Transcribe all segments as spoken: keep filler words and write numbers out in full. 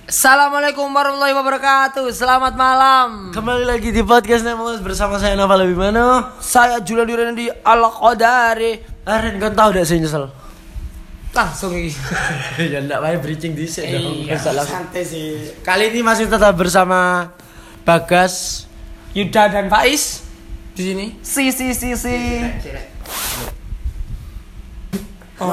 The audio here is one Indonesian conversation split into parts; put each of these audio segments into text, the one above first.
Assalamualaikum warahmatullahi wabarakatuh. Selamat malam. Kembali lagi di podcast Nemos bersama saya Naval Abimano. Saya Julian Duren di Al-Qadari. Aren, kan tahu dak saya nyesel. Langsung iki. Ya ndak wae bridging dhisik dong. Iya, santai sih. Kali ini masih tetap bersama Bagas, Yuda dan Faiz di sini. Si si si si. Oh.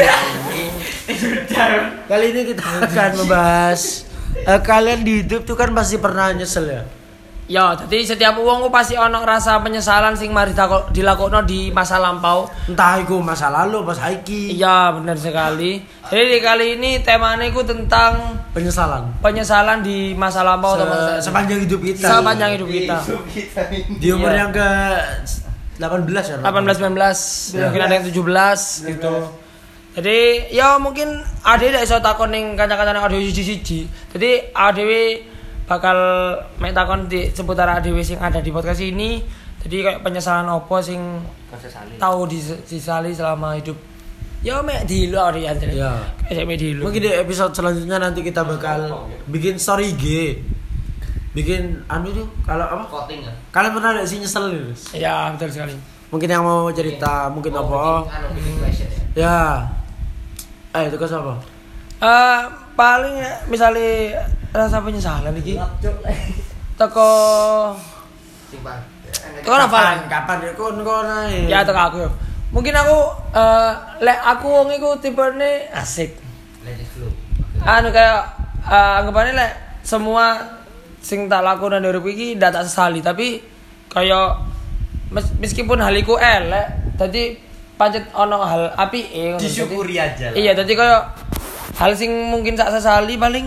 Kali ini kita akan membahas uh, kalian di hidup tuh kan pasti pernah nyesel ya. Ya, jadi setiap wong ku pasti ono rasa penyesalan sing mari dilakokno di masa lampau. Entah itu masa lalu pas saiki. Iya, benar sekali. Jadi di kali ini temanya ku tentang penyesalan. Penyesalan di masa lampau Se- atau masa sepanjang hidup kita. Sepanjang hidup kita. Di umur Iya. yang ke delapan belas ya. delapan belas sembilan belas, Ya. mungkin ada yang tujuh belas gitu. Jadi ya mungkin ade ndak iso takon ning kanca-kancane ade siji-siji. Jadi ade bakal mek takon di seputar ade sing ada di podcast ini. Jadi kayak penyesalan opo sing tahu disesali selama hidup. Ya mek dilu ade ya. Ya. Kayak mek dilu. Mungkin di episode selanjutnya nanti kita bakal bikin story I G. Bikin anu tuh kalau apa? Voting ya. Kalian pernah ada sih nyesel nih? Ya, betul sekali. Mungkin yang mau cerita, mungkin Oh, apa? bikin, anu, bikin question ya. Ya. Eh, itu kan apa? Eh paling misalnya rasa penyesalan iki. Teko Simpan. teko apa? Kapan ya kon kon ae? Ya teko aku. Mungkin aku eh lek aku wong iku tipene asik. Let it flow. Anu kayak eh, anggapane lek semua sing tak lakukan dari urip iki ndak tak sesali, tapi kayak mes- meskipun hal iku elek, dadi pancet ono hal apike ngono. Disyukuri Dadi- aja lah. Iya, dadi kayak hal sing mungkin tak sesali paling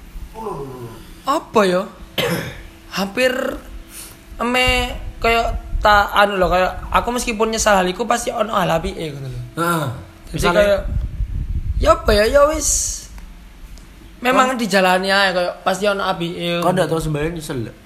apa ya? Hampir eme kayak tak anu loh, kayak aku meskipun nyesal hal iku pasti ono hal apike ngono lho. Heeh. Jadi Misalnya kayak ya apa ya ya wis memang dijalani aja kayak pasti ono apike. kau ndak tahu sembahyang nyesel ndak?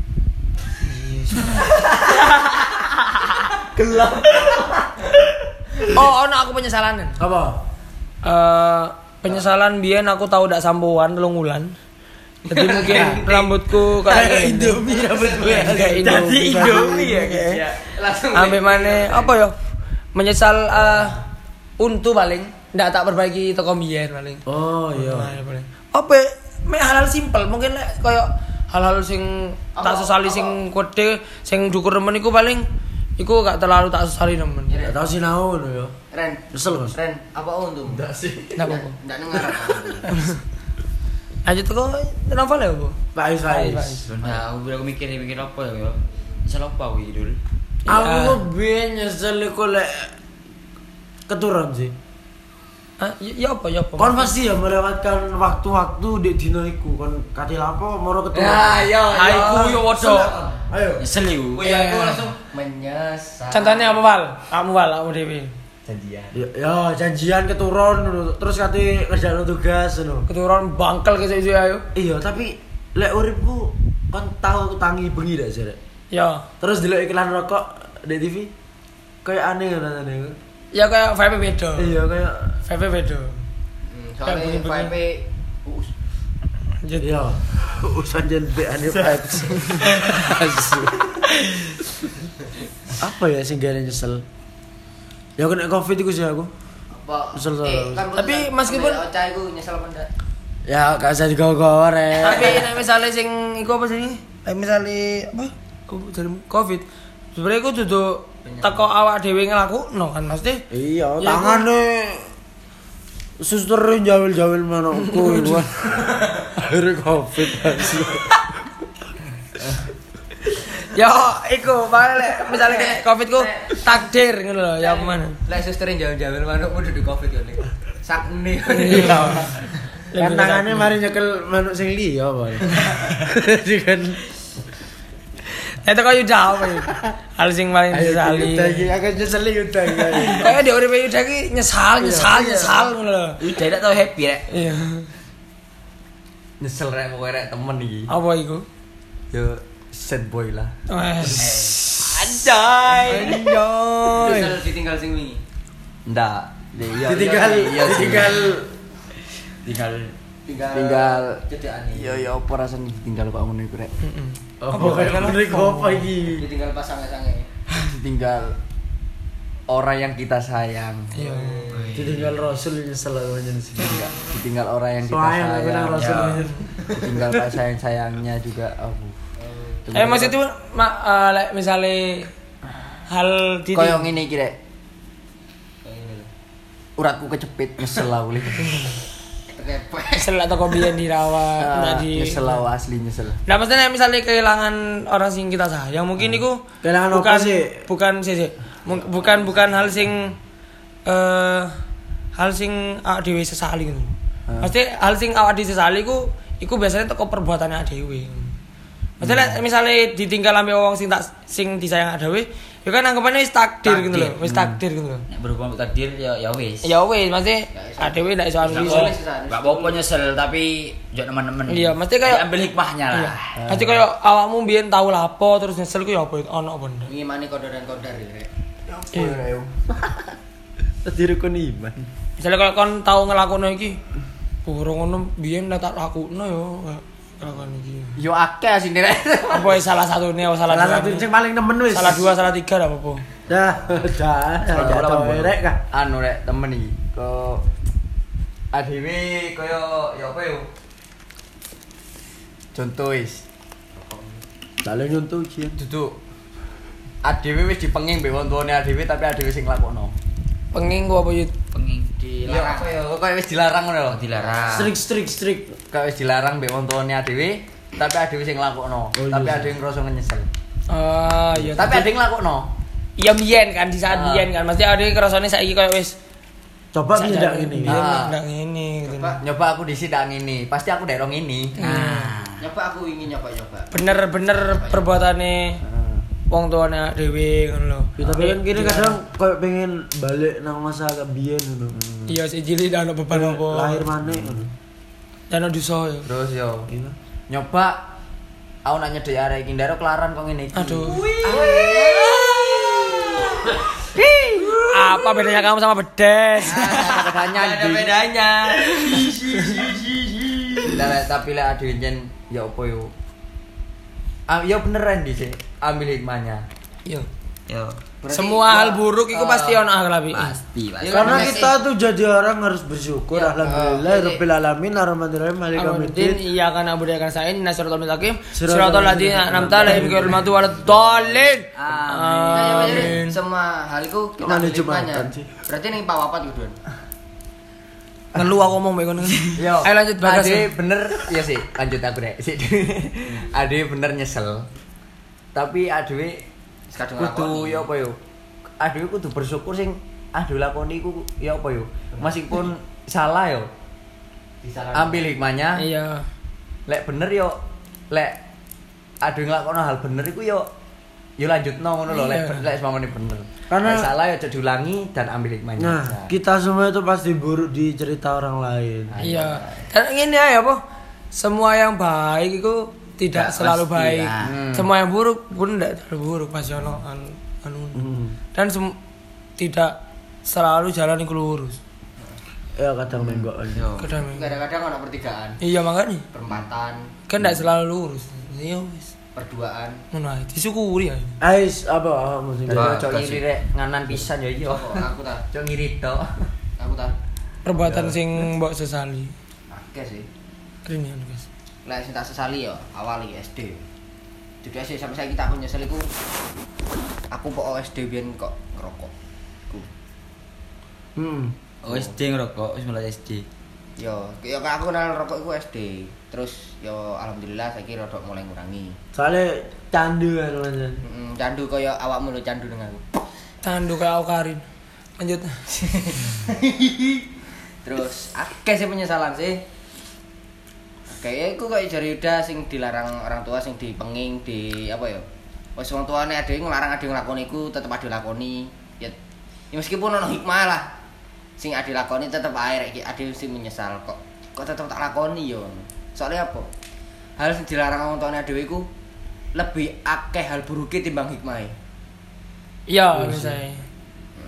Gelap. Oh, ono aku penyesalan. Apa? Eh penyesalan biyen aku tahu ndak sampoan telung wulan. Jadi mungkin rambutku kayak Indomie rambut gue. kayak Indomie. Indomie ya, guys, Kayak- ya. Langsung Ambil mana apa ya? Menyesal eh untu paling ndak tak perbaiki toko biyen paling. Oh iya. Nah, paling. Apa mek hal-hal simpel mungkin lek koyo hal-hal sing tak Apa- sesali apa? sing kode sing dukur nemen iku paling iku gak terlalu tak sesali nemen. Ndak tahu sih nau lho ya. Ren, Nyesel kan? Ren, apa untung? Enggak sih. Ndak apa-apa. Enggak dengar. Lanjut kok novel ya, Bu? Faiz Faiz, Faiz. Faiz. Nah, aku aku mikir mikir apa ya? Salah apa wi dul? Aku Ya. kok biyen nyesel iku lek keturun sih. Ah, ya ya apa ya apa? Kon pasti ya melewatkan waktu-waktu di dino iku kon katil apa moro keturun. yo. Aiku yo wodo. Ayo. Nyesel yuk. Oh, iya, aku iya. langsung menyesal. Contohnya apa, Wal? Kamu Wal, kamu Dewi. Janjian. Ya, ya janjian keturun ngono. Terus kate ngerjain tugas ngono. Keturun bangkel ke sisi ayo. Iya, tapi lek uripku kon tahu tangi bengi dak sih. Rek? Ya. Terus delok iklan rokok di T V kayak aneh rasane. Ya kayak vibe beda. Iya, kayak Vibe beda. Hmm, Soalnya Kayak begini-begini. V P us. Lanjut. iya. Usan jen be aneh vibes. Asu. Apa ya sing gane nyesel? Ya kena Covid iku sih aku. Apa? Nyesel soalnya. Eh, kan Tapi putusan meskipun- ambil Ocha iku nyesel apa enggak? Ya gak usah digawa-gawa rek. Tapi nek misale sing iku apa sih? Nek misale apa? Kok jadi Covid. Sebenarnya iku duduk teko awak dhewe nglakukno kan mesti. Iya, Ya, tangane suster jawil-jawil manukku itu kan. Akhirnya Covid asu. Ya iku balik misale kena Covid ku takdir ngono lho ya mana. Lek susterin jauh-jauh manukmu duduk Covid yo nek. Sakne. Iya. Kan tangannya mari nyekel manuk sing liya apa. Jadi kan Itu kok Yuda apa ya? Hal sing paling disesali. Yuda iki aku nyeseli Yuda iki. Kayak di uripe Yuda iki nyesal, nyesal, Iya. nyesal ngono lho. Udah tak tau happy rek. Iya. Nyesel rek pokoke rek temen iki. Apa iku? Yo sad boy lah. Wes. Anjay. Anjoy. Nyesel ditinggal sing wingi. Ndak. Iya, Ditinggal, iya, iya sih. ditinggal tinggal tinggal tinggal cedakan iki. iya ya apa rasane tinggal kok ngono iku rek. Heeh. Oh, kayak ngene apa iki? Ditinggal pasange-sange. Ditinggal orang yang kita sayang. Iya. Ditinggal Rasul nyesel aja di sini. Ditinggal orang yang kita Sayang aku sayang. nang Rasul. Ya. Ditinggal pas sayang-sayangnya juga aku. Eh maksud itu mak eh, lek misale hal di Koyo ngene iki rek. Kayak ngene lho. Uratku kecepit nyesel aku lho. Tekepek. selak toko biyen dirawat, Ah, ndak di nyesel aku asli nyesel. Nah, maksudnya misalnya kehilangan orang sing kita sayang, mungkin itu Kehilangan apa bukan sih? bukan sih sih. Mung- bukan bukan hal sing eh hal sing awak dhewe sesali ngono. Pasti hal sing awak dhewe sesali ku iku biasanya teko perbuatane awak dhewe. Maksudnya misalnya ditinggal ambil wong sing tak sing disayang awak dhewe, ya kan anggapannya wis takdir gitu loh, wis takdir gitu loh. Nek berhubung takdir ya ya wis. Ya wis, maksudnya awak dhewe ndak iso ambil. Boleh iso. sih, San. Enggak apa-apa nyesel tapi yo teman-teman. Iya, mesti kayak- ambil hikmahnya lah. Iya. Pasti koyo awakmu biyen tau lapo terus nyesel ku ya apa ono apa ndak. Ngimani kodar dan kodar ya, Rek. Iya. Tadi rukun iman. Misalnya kalau kon tau ngelakuin iki, burung ngono biyen nek tak lakuno yo ngelakuin iki. Yo akeh asine rek. Apa ya salah satu nih, salah, Salah dua satu nih? sing paling nemen wis. Salah dua, salah tiga dah apa-apa. Dah, dah, dah tau rek kah. Anu rek temen iki kok adewe koyo ya apa yo. Contoh wis. Dale nyuntuh ujian. Duduk adewe wis dipenging mbek wong tuane adewe tapi adewe sing nglakokno. Penging gua apa yut? Penging Iya Dilarang. apa yo kok wis dilarang ngono lho. dilarang. Strik strik strik. Kok wis dilarang mbek wong tuane adewe tapi adewe sing nglakokno. Oh, iya. Tapi adewe ngrasa nyesel. Ah, iya. Tapi Tapi adewe nglakokno. iya biyen kan di saat Ah. biyen kan. Mesti ada kerasane saiki koyo wis Coba tidak ini. Biyen Ah. ndak ngene gitu. Coba. Nyoba aku dhisik ndak ngene, pasti aku ndek rong ini. Nah, Nyoba aku ingin nyoba-nyoba. Bener-bener perbuatane wong tuane dhewe ngono lho. Ya, tapi kan kini kadang koyo pengen balik nang masa kebiyen ngono. Iya sih cilik ndak ono beban apa. Lahir maneh ngono. Dan ono dosa ya. Terus yo Iya. nyoba aku nak nyedek arek iki ndaro kelaran kok ngene iki. Aduh. Apa bedanya kamu sama bedes? Ada bedanya Ada anjing. bedanya. Lah, tapi lek adewe njen ya apa yo. Ah ya beneran di sih ambil hikmahnya. Iya. yo Berarti Semua hal ya, buruk itu eh, pasti ono akhlak iki. pasti pasti. Ya, Karena Makasih. kita tuh jadi orang harus bersyukur. Ya, Alhamdulillah, eh, rabbil alamin, arrahmanirrahim, malikal Alhamdulillah, yaumiddin. iya kan abu kan saya ini nasiratul mustaqim. Siratal Siratal ladzina an'amta alaihim ghairil maghdubi waladdallin. Nah, ya, ya, ya, Amin. semua hal itu kita Mana ambil Jumatan hikmahnya. sih? Berarti nih Pak Wapat gitu. Ngeluh aku ngomong bae ngono. Yo. Ayo lanjut bagas. Ade bener ya sih, lanjut aku deh. Sik. Ade bener nyesel. Tapi adewe Kadung kudu ya apa yo. Adewe kudu bersyukur sing adewe lakoni iku ya apa yo. Meskipun salah yo. Ambil hikmahnya. Iya. Lek bener yo lek adewe nglakoni hal bener iku yo yo lanjutno ngono lho lek Iya. lek semamane bener. Karena- Lek salah yo aja diulangi dan ambil hikmahnya. Nah, kita semua itu pasti buruk di cerita orang lain. Iya. Dan ini ya apa? Semua yang baik itu tidak Nggak selalu pasti baik. lah. Hmm. Semua yang buruk pun tidak selalu buruk pasti ono anu. anu. Hmm. Dan sem- tidak selalu jalan yang lurus. Ya kadang menggok. Yo. Kadang Kadang-kadang ada pertigaan, iya makanya perempatan, kan tidak selalu lurus. Iya wis. perduaan. Ngono ae disyukuri ae. Ais apa musim Jadi Bah, ojo kasih. ngiri rek nganan pisan ya iya. Kok aku ta, Ojo ngiri tok. aku ta. Perbuatan sing mbok sesali. Akeh sih. Keren ya guys. Lek sing tak sesali ya awal iki S D. Jadi S D sampai saiki tak aku nyesel iku aku kok S D biyen kok ngerokok. Ku. Hmm. Oh, S D ngerokok, wis mulai S D. Yo, yo aku kenal rokok iku S D. Terus yo alhamdulillah saiki rodok mulai ngurangi. Soalnya candu kan macam. Heeh, candu kaya awakmu lho candu dengan aku. Tandu kayak Aukarin. Lanjut. Terus akeh sih penyesalan sih. Kayak aku kayak jari udah sing dilarang orang tua sing dipenging di apa ya? Wes wong tuane ade nglarang ade nglakoni iku tetep ade lakoni. Ya, ya meskipun ono hikmah lah. Sing ade lakoni tetep ae rek iki ade mesti menyesal kok. Kok tetep tak lakoni yo. Soalnya apa? Hal sing dilarang wong tuane dhewe iku lebih akeh hal buruke timbang hikmahe. Iya, misalnya. Hmm.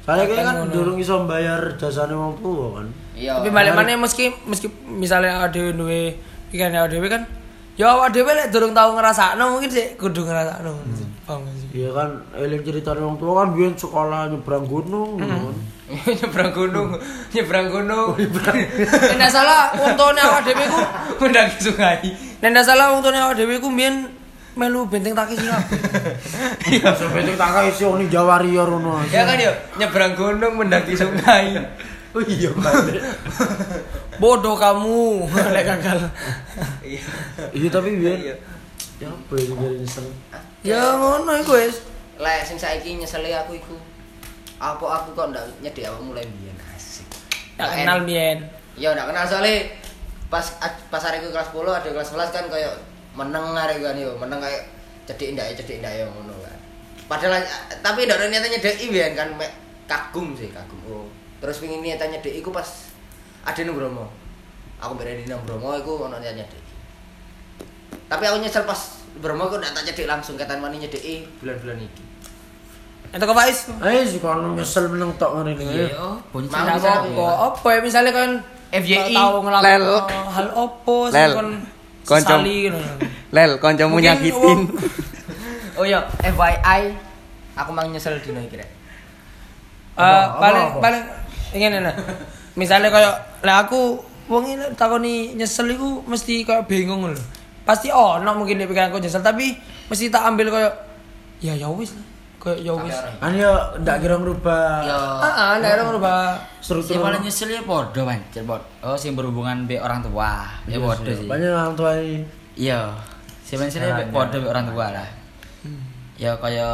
Soalnya kayak kan Ngono. durung iso bayar jasane wong tua kan. Iya. Tapi balik mana meski meski misalnya ada duwe pikiran ada duwe kan ya awak dhewe lek durung tau ngrasakno mungkin sih kudu ngrasakno. Paham gak sih? Iya kan eling ceritane wong tua kan biyen sekolah nyebrang gunung ngono kan. nyebrang gunung, nyebrang gunung. Nek ndak salah wong tuane awak dhewe ku Mendaki sungai. nek ndak salah wong tuane awak dhewe ku mbiyen melu benteng takis sih kabeh. Iya. Sebenting tak kae isi wong Jawa Warrior ngono. Ya kan yo, nyebrang gunung mendaki sungai. Oh iya balik. Bodoh kamu lek gagal. Iya. Iya tapi biyen Iya. ya apa ya biyen nyesel. Ya ngono iku wis. Lek sing saiki nyeseli aku iku. Apa aku kok ndak nyedhek awakmu mulai biyen asik. Tak kenal biyen. Ya ndak kenal soalnya pas pas hari kelas sepuluh ada kelas sebelas kan kayak meneng arek kan yo, meneng kayak cedhek ndak cedhek ndak yo ngono kan. Padahal tapi ndak ada niatan nyedheki biyen kan mek kagum sih, kagum. Oh. Terus pengin niatan nyedheki iku pas ada nang Bromo. Aku berada nang Bromo iku ono niatan nyedheki. Tapi aku nyesel pas Bromo aku ndak tak cedhek langsung ketan mani nyedheki bulan-bulan iki. Entuk kok Faiz? Ayo sih kalau nyesel meneng tok ngene iki. Iya, oh, bonus Mau Ndak bisa apa apa ya misalnya kan F Y I, tahu ngelakuin Lel. hal opo sing Lel. kon Koncom. sesali ngono. Lel, kancamu Mungkin nyakitin. wong- Oh iya, F Y I aku mang nyesel dino iki rek. Eh Apa, paling apa, apa? paling ingin nah. Misalnya kayak lah aku wong ini takoni nyesel iku mesti kayak bingung lho. Pasti ono mungkin di pikiranku nyesel tapi mesti tak ambil kayak ya ya wis lah. Kayak ya wis. Kan ya ndak kira ngerubah Yo. Ah, ndak ada ngerubah Si struktur. paling nyesel ya podo kan, cerbot. Oh, sing berhubungan be orang tua. Ya podo sih. Banyak orang tua ini. Iya. Si paling nyesel ya podo be orang tua lah. Ya kaya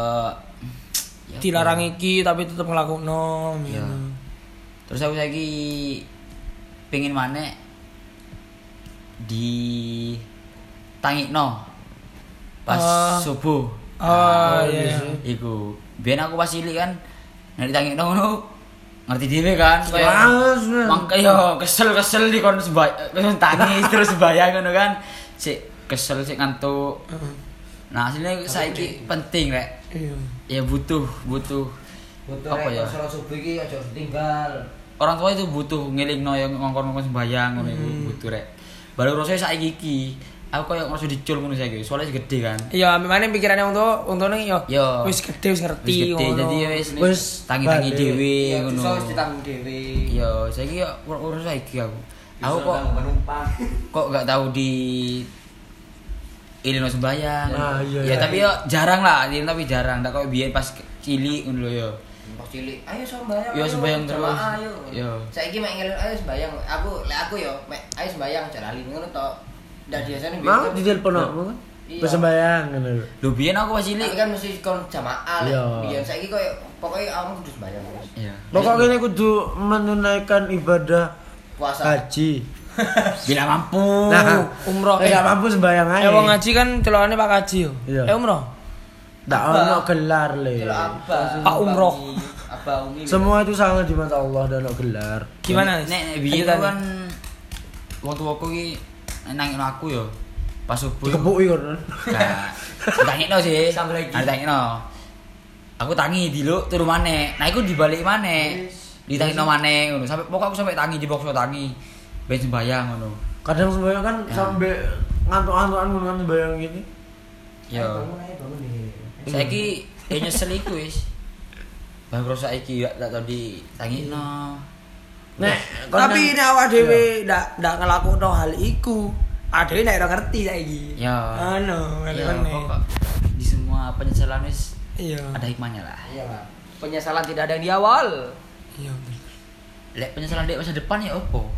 ya, Dilarang iki tapi tetep nglakokno. Iya. ngono. Terus aku saiki pengen maneh di tangikno pas Ah. subuh. Oh iya. Iku. Biyen aku pas cilik kan nek ditangikno ngono ngerti dhewe kan kayak Males, men. mangka yo kesel-kesel di kon sebay tangis terus bayang ngono kan. Sik kesel sik ngantuk. Nah, aslinya saiki penting rek. Iya. Ya butuh, butuh Butuh apa ya? Sholat subuh iki aja ditinggal. Orang tua itu butuh ngelingno yang ngongkon-ngongkon sembayang ngono iku butuh rek. Baru rasane saiki iki aku koyo ngerasa dicul ngono saiki. Soalnya gede kan. Iya, memane pikirane wong tuwa, wong tuwa yo Yo. wis gede wis ngerti Wis gede ngono. jadi ya wis Wis tangi-tangi balik. dhewe Iya, ngono. iso wis ditanggung dhewe. Yo, saiki yo urus saiki aku. Aku kok kok gak tahu di ilmu sembayang. Nah, iya, Ya iya. tapi yo jarang lah, ini tapi jarang. Ndak koyo biyen pas cilik ngono lho yo. Pas cilik, ayo sembayang. Iya, ayo, sembayang terus. jamaah, Ayo. Iya. Saiki mek ngelin ayo sembayang. Aku lek aku yo mek ayo sembayang aja lali ngono tok. Ndak biasane Mau kan- di telepon aku kan. Iya. Bersembayang ngono lho. Lho biyen aku pas Tapi cilik. kan mesti kon jamaah lek. Iya. Biyen saiki koyo pokoknya aku kudu sembayang terus. Iya. Pokoknya ini kudu menunaikan ibadah Puasa. haji. Bila mampu. Nah, Umroh. Eh, gak mampu sembayang aja. Eh wong ngaji kan celokane Pak Kaji yo. Iya. Eh umroh. Ndak ono gelar le. Kalau apa? Pak Umroh. Apa umi? Semua itu sama di mata Allah dan ono gelar. Gimana? Nek nek biyen aku kan wong tuaku iki nangin aku yo. Pas subuh. Dikepuki kon. Nah, ditangikno sih. Sambil lagi. Nah, ditangikno. Aku tangi diluk turu maneh. Nah, iku dibalik maneh. Ditangikno maneh ngono. Sampai pokok aku sampai tangi dipaksa tangi. Ben sembayang ngono. Kadang sembayang kan Ya. sampai ngantuk-ngantukan ngono kan sembayang gini. Yo. Bangun aja bangun nih. Saiki ya nyesel iku wis. Bangro saiki gak tak tau ditangikno. Nek Tapi nek awak dhewe ndak ndak nglakokno hal iku, adewe nek ora ngerti saiki. Ya. Ano, Ya, ngene. pokok di semua penyesalan wis Iya. ada hikmahnya lah. Iya lah. Penyesalan tidak ada yang di awal. Iya. Lek penyesalan di masa depan ya opo?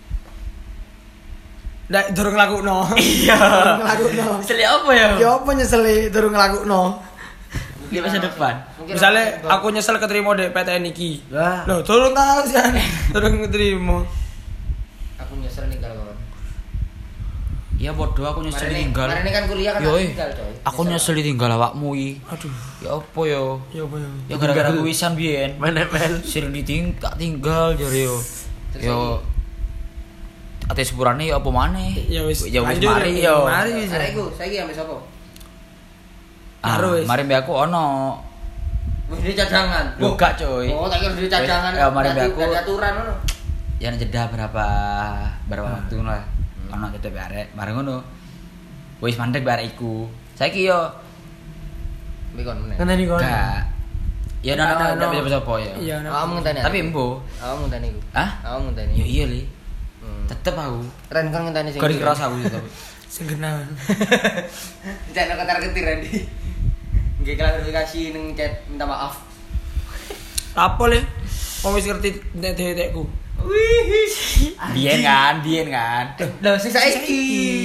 Ndak durung nglakokno. Iya. Nglakokno. Nyesel apa ya? Ya apa nyeseli durung nglakokno? Di masa depan. Mungkin Misalnya aku nyesel keterima di P T N iki. Lah, Loh, durung tahu sih. Durung keterima. aku nyesel ninggal kawan. Iya bodoh aku nyesel Kemarin ini- ditinggal. kemarin ini kan kuliah kan Yo, aku eh. tinggal, coy. Aku nyesel ditinggal awakmu iki. Aduh, Ya opo yo? ya apa ya? Ya gara-gara kuisan biyen. main M L. Sering ditinggal tinggal jare yo. Terus Yo ate sepurane ya apa maneh? Ya wis. Ya wis lanjut, mari ya, yo. Mari wis. Arek iku saiki ambek sapa? Ah, Karo wis. mari mbek aku ono. Duit cadangan. Loh, gak, coy. Oh, tak kira duit cadangan. Ya, mari Berarti aku. dari aturan ngono. Ya jeda berapa berapa waktu ngono lah. Ono jeda barek, bareng ngono. Wis mandek barek iku. Saiki yo Mbek kon meneh. Ngene iki kon. gak. Ya ono Ada, ono ada. bisa sapa ya. Iya, nah. Awakmu ngenteni. Tapi embo. Awakmu ngenteni iku. Hah? Awakmu ngenteni. Ya iya li. Hmm. Tetep aku. Ren kon ngenteni sing. Gak dikeras aku itu. Sing genah. Jangan ketar ketir Randy. Nggih klarifikasi ning chat minta maaf. Apa le? Wong wis ngerti nek detekku. Wih. Biyen kan, biyen kan. Lho sing saiki.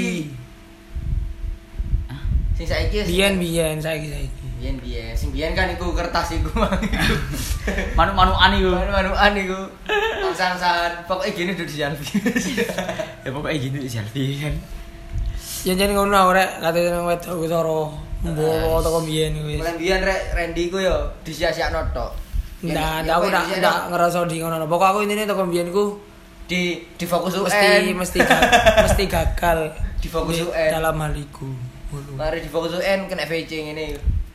Sing saiki. Biyen-biyen saiki saiki. Biyen biyen. Sing biyen kan iku kertas iku mang iku. Manu-manuan iku. Manu-manuan iku. Sang-sangan. Pokoke gini duduk di jalan. Ya pokoknya gini di selfie kan. Ya jan ngono rek kate nang wedok ku cara mbowo teko biyen wis. Mulai biyen rek Randy ku yo disia-siakno tok. Ndak, ndak aku ndak ndak ngerasa di ngono. Pokok aku intine teko biyen ku di di fokus U N. mesti mesti ga- mesti gagal Di fokus di- U N. dalam hal iku. Ngono. Mari di fokus U N kena V C ngene.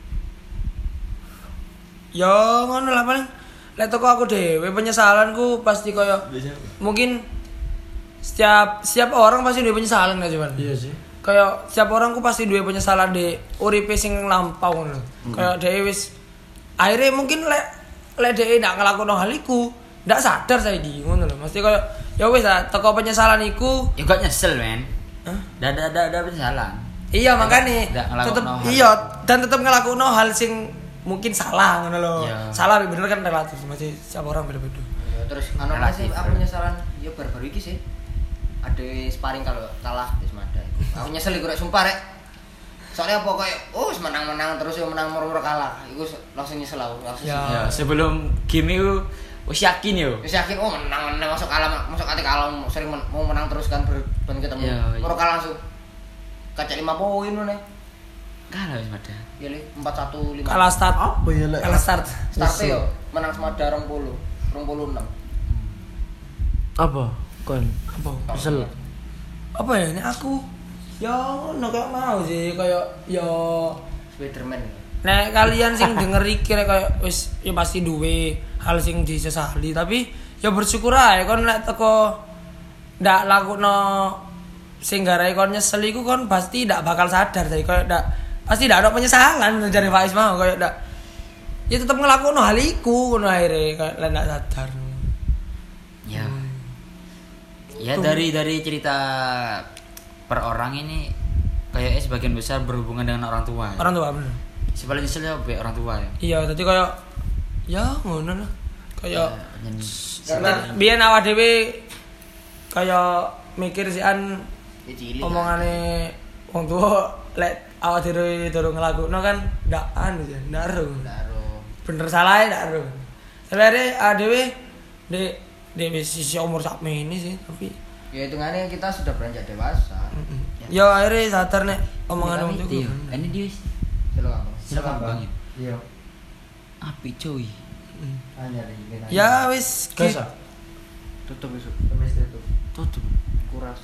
Ya ngono lah paling lek teko aku dhewe penyesalanku pasti koyo mungkin setiap setiap orang pasti duwe penyesalan gak cuman. Iya sih. Kayak setiap orang ku pasti duwe penyesalan di uripe sing lampau ngono. Kayak dhewe wis akhirnya mungkin lek lek dhewe ndak nglakoni hal iku, ndak sadar saiki ngono lho. Mesti koyo ya wis lah teko penyesalan iku. Ya gak nyesel men. Hah? Dah dah dah dah penyesalan. Iya makane ndak ngelakokno tetep hal. iya dan tetep ngelakoni hal sing mungkin salah ngono lho. Iya. Salah bener kan relatif masih setiap orang beda-beda. Ya, terus anu Relatif, masih aku bro. penyesalan ya baru-baru iki sih. Ada sparring kalau kalah wis mada. Aku nyesel iku rek sumpah rek. Soalnya apa kayak oh wis menang-menang terus yo menang moro-moro kalah. Iku langsung nyesel aku, langsung. Ya. Ya sebelum game itu wis yakin yo. Wis yakin oh menang-menang masuk kalah masuk ate kalah sering men- mau menang terus kan ber ben ketemu. Iya, iya. Moro kalah langsung. Kaca lima poin ngono. Kalah wis mada. Ya le empat satu lima. Kalah start. Apa ya lek? Kalah start. Starte yo menang semada dua puluh, dua puluh enam. Apa? Kon. Apa? Kesel. Apa ya ini aku ya ngono kayak mau sih kayak ya Spiderman. nek kalian sing denger iki rek kayak wis ya pasti duwe hal sing disesali tapi ya bersyukur ae kon nek teko ndak lakuno sing garai kon nyesel iku kon pasti ndak bakal sadar tadi kayak ndak pasti ndak ada penyesalan jare Faiz mau kayak ndak ya tetep ngelakuno hal iku ngono akhire kayak lek ndak sadar. Ya. Ya dari dari cerita per orang ini kayaknya sebagian besar berhubungan dengan orang tua. Ya. Orang tua bener. Si paling nyesel ya be orang tua ya. Iya, tadi kayak ya ngono lah. Kayak Ya, nyen- Karena biyen awak dhewe kayak mikir sih an ya cilik. omongane wong tuwa lek awak dhewe durung nglakukno kan ndak anu ya, ndak ero. Daro. Bener salah ndak ero. Sebenarnya awak dhewe di di sisi umur sak ini sih, tapi Ya hitungannya kita sudah beranjak dewasa. ya akhirnya sadar nek omongan wong Iya, tuwa. ini dia Silakan. silakan bang ya. Iya. Api cuy. Hanya di gini. Ya wis Guys, ki- ah. Tutup besok. Kemis tutup. Tutup. Kuras.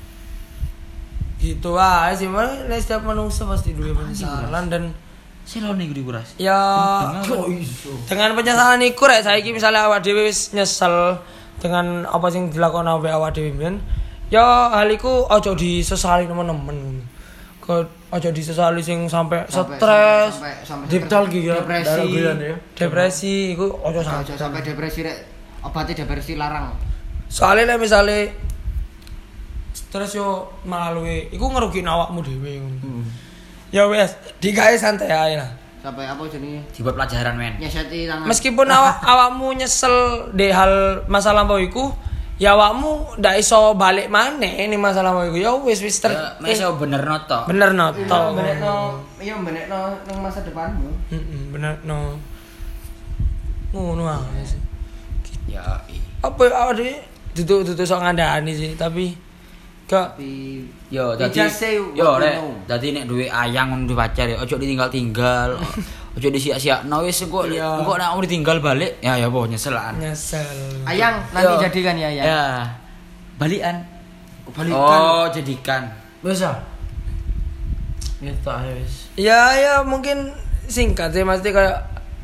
gitu aja sih, malah nek setiap manusia pasti duwe penyesalan dan Silone gue dikuras. ya Kok iso? dengan penyesalan iku rek saiki misalnya awak dhewe wis nyesel dengan apa sing dilakoni awake awak dhewe men ya hal iku aja disesali temen-temen kok aja disesali sing sampai Sampai- stres sampai sampai Deep talk iki ya. Depresi. Darah guyon ya. depresi iku aja Aja sampai sampai depresi rek. Obatnya depresi larang. soalnya nek misale stres yo melalui iku ngerugin awakmu dhewe ngono ya wes digawe santai ae lah Sampai apa jenenge? Dibuat pelajaran men. Nyeseti tangan. meskipun awak awakmu nyesel di hal masa lampau iku ya awakmu ndak iso balik maneh ning masa lampau iku ya wis wis ter Ya, mesо bener noto. bener Iya, noto menekno, iya menekno nang masa depanmu. heeh bener no ngono ae sih Ya, i. apa awak dhewe duduk-duduk sok ngandani sih tapi gak Tapi Yo, We dadi just say what yo we rek, know. dadi nek duwe ayang ngono duwe pacar ya ojo ditinggal-tinggal. Ojo disia-siakno wis engko Iya. engko nek mau ditinggal balik ya ya apa nyeselan. nyesel Ayang nanti Yo. jadikan ya Ayang. Ya. Balikan. Balikan. Oh, jadikan. Bisa. Gitu aja wis. ya ya mungkin singkat sih mesti kayak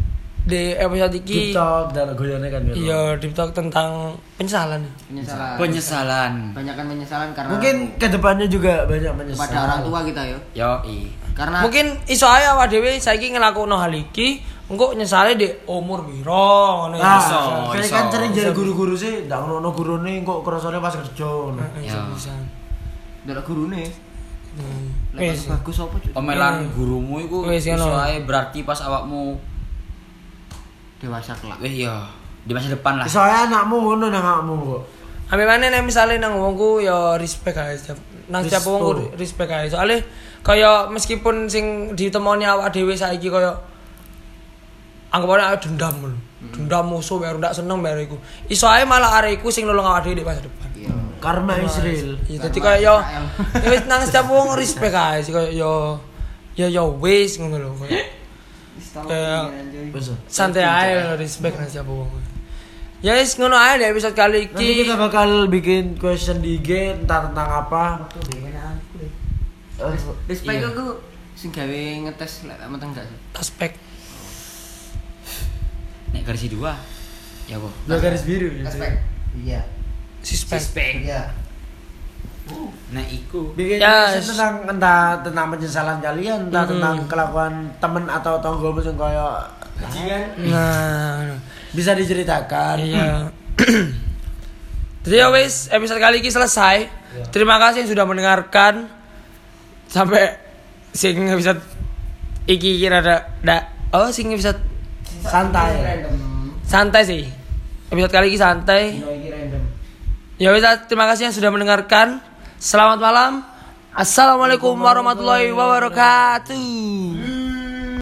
di episode iki TikTok dan goyone kan gitu. iya di TikTok tentang penyesalan. Penyesalan. Penyesalan. Banyakan penyesalan karena Mungkin kedepannya juga banyak menyesal. kepada orang tua kita yo. Yo, i. Karena Mungkin iso ae awak dhewe saiki ngelakokno hal iki, engko nyesale di umur piro ngono Nah, Iso, kayak iso. kan sering jadi guru-guru sih, ndak ono gurune kok kerasane pas kerja ngono. Ya. bisa. ndelok gurune. Hmm. Lek Wis. bagus apa Cuk? Omelan gurumu iku Wis, iso ngono. ae berarti pas awakmu Dewasa kelak. wis ya di masa depan lah. Soalnya anakmu ngono nang anakmu kok. Ambil mana nih misalnya nang wongku ya respect aja setiap nang setiap Resto. wongku respect aja soalnya kaya meskipun sing ditemoni awak dhewe saiki kaya anggapannya ayo dendam lho. Dendam musuh baru ndak seneng baru iku. Iso ae malah arek iku sing nulung awak dhewe di masa depan. Iya. Karma Israel. Ya dadi kaya yo ya wis nang setiap wong respect aja sih kaya yo ya yo wis ngono lho kaya Kayak- Wes. santai aja respect nang setiap wong. Ya wis ngono ae di episode kali Nanti iki. kita bakal bikin question di I G entah tentang apa. Eh, Respect Iya. aku sing gawe ngetes lek meteng gak sih? Aspek Nek versi dua. Ya kok. Dua garis biru. gitu. Respect. Iya. suspek. Iya. Nek iku Bikin Ya, question tentang entah tentang penyesalan kalian, entah Mm-mm. tentang kelakuan temen atau tonggomu yang kaya Nah, bisa diceritakan. iya. Jadi ya wis episode kali ini selesai. Terima kasih yang sudah mendengarkan sampai sing episode iki kira ada da, oh sing episode Santai. santai sih. Episode kali ini santai. Ya wis terima kasih yang sudah mendengarkan. Selamat malam. Assalamualaikum warahmatullahi wabarakatuh.